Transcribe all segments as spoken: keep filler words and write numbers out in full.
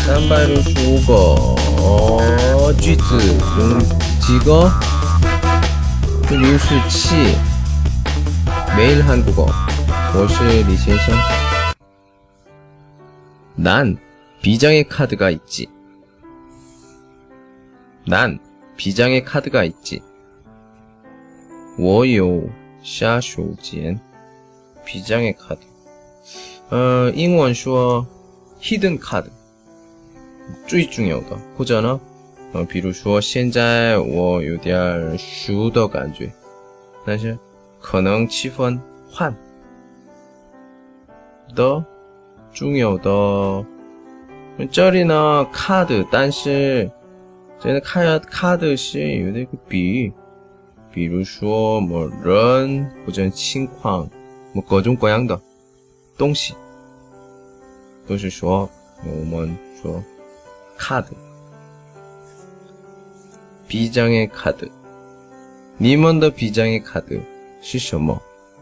三百六十五个句子用几个？六十七。매일 한국어. 我是李先生. 난 비장의 카드가 있지. 난 비장의 카드가 있지. 我有下手间 비장의 카드. 呃英文说 hidden card 最重要的，或者呢呃比如说现在我有点熟的感觉，但是可能气氛换的重要的。这里呢 card 但是这个 card 是有那个比喻，比如说某人或者情况，某各种各样的东西都是说我们说 card 비장의 카드. 你们的 비장의 카드 是什么？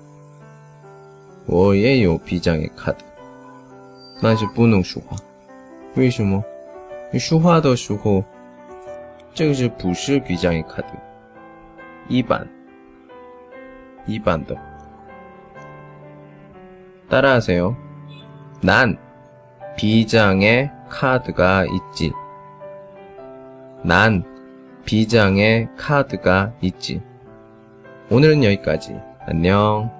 我也有 비장의 카드. 但是不能说话。为什么？你说话的时候这个是不是 비장의 카드? 一般一般的。따라하세요. 난 비장의 카드가 있지. 난 비장의 카드가 있지. 오늘은 여기까지. 안녕.